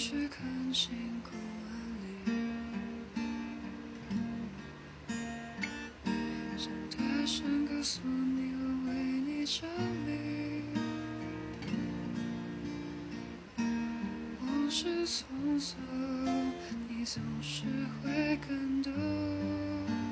去看星空万里，想大声告诉你我为你着迷。往事匆匆，你总是会感动。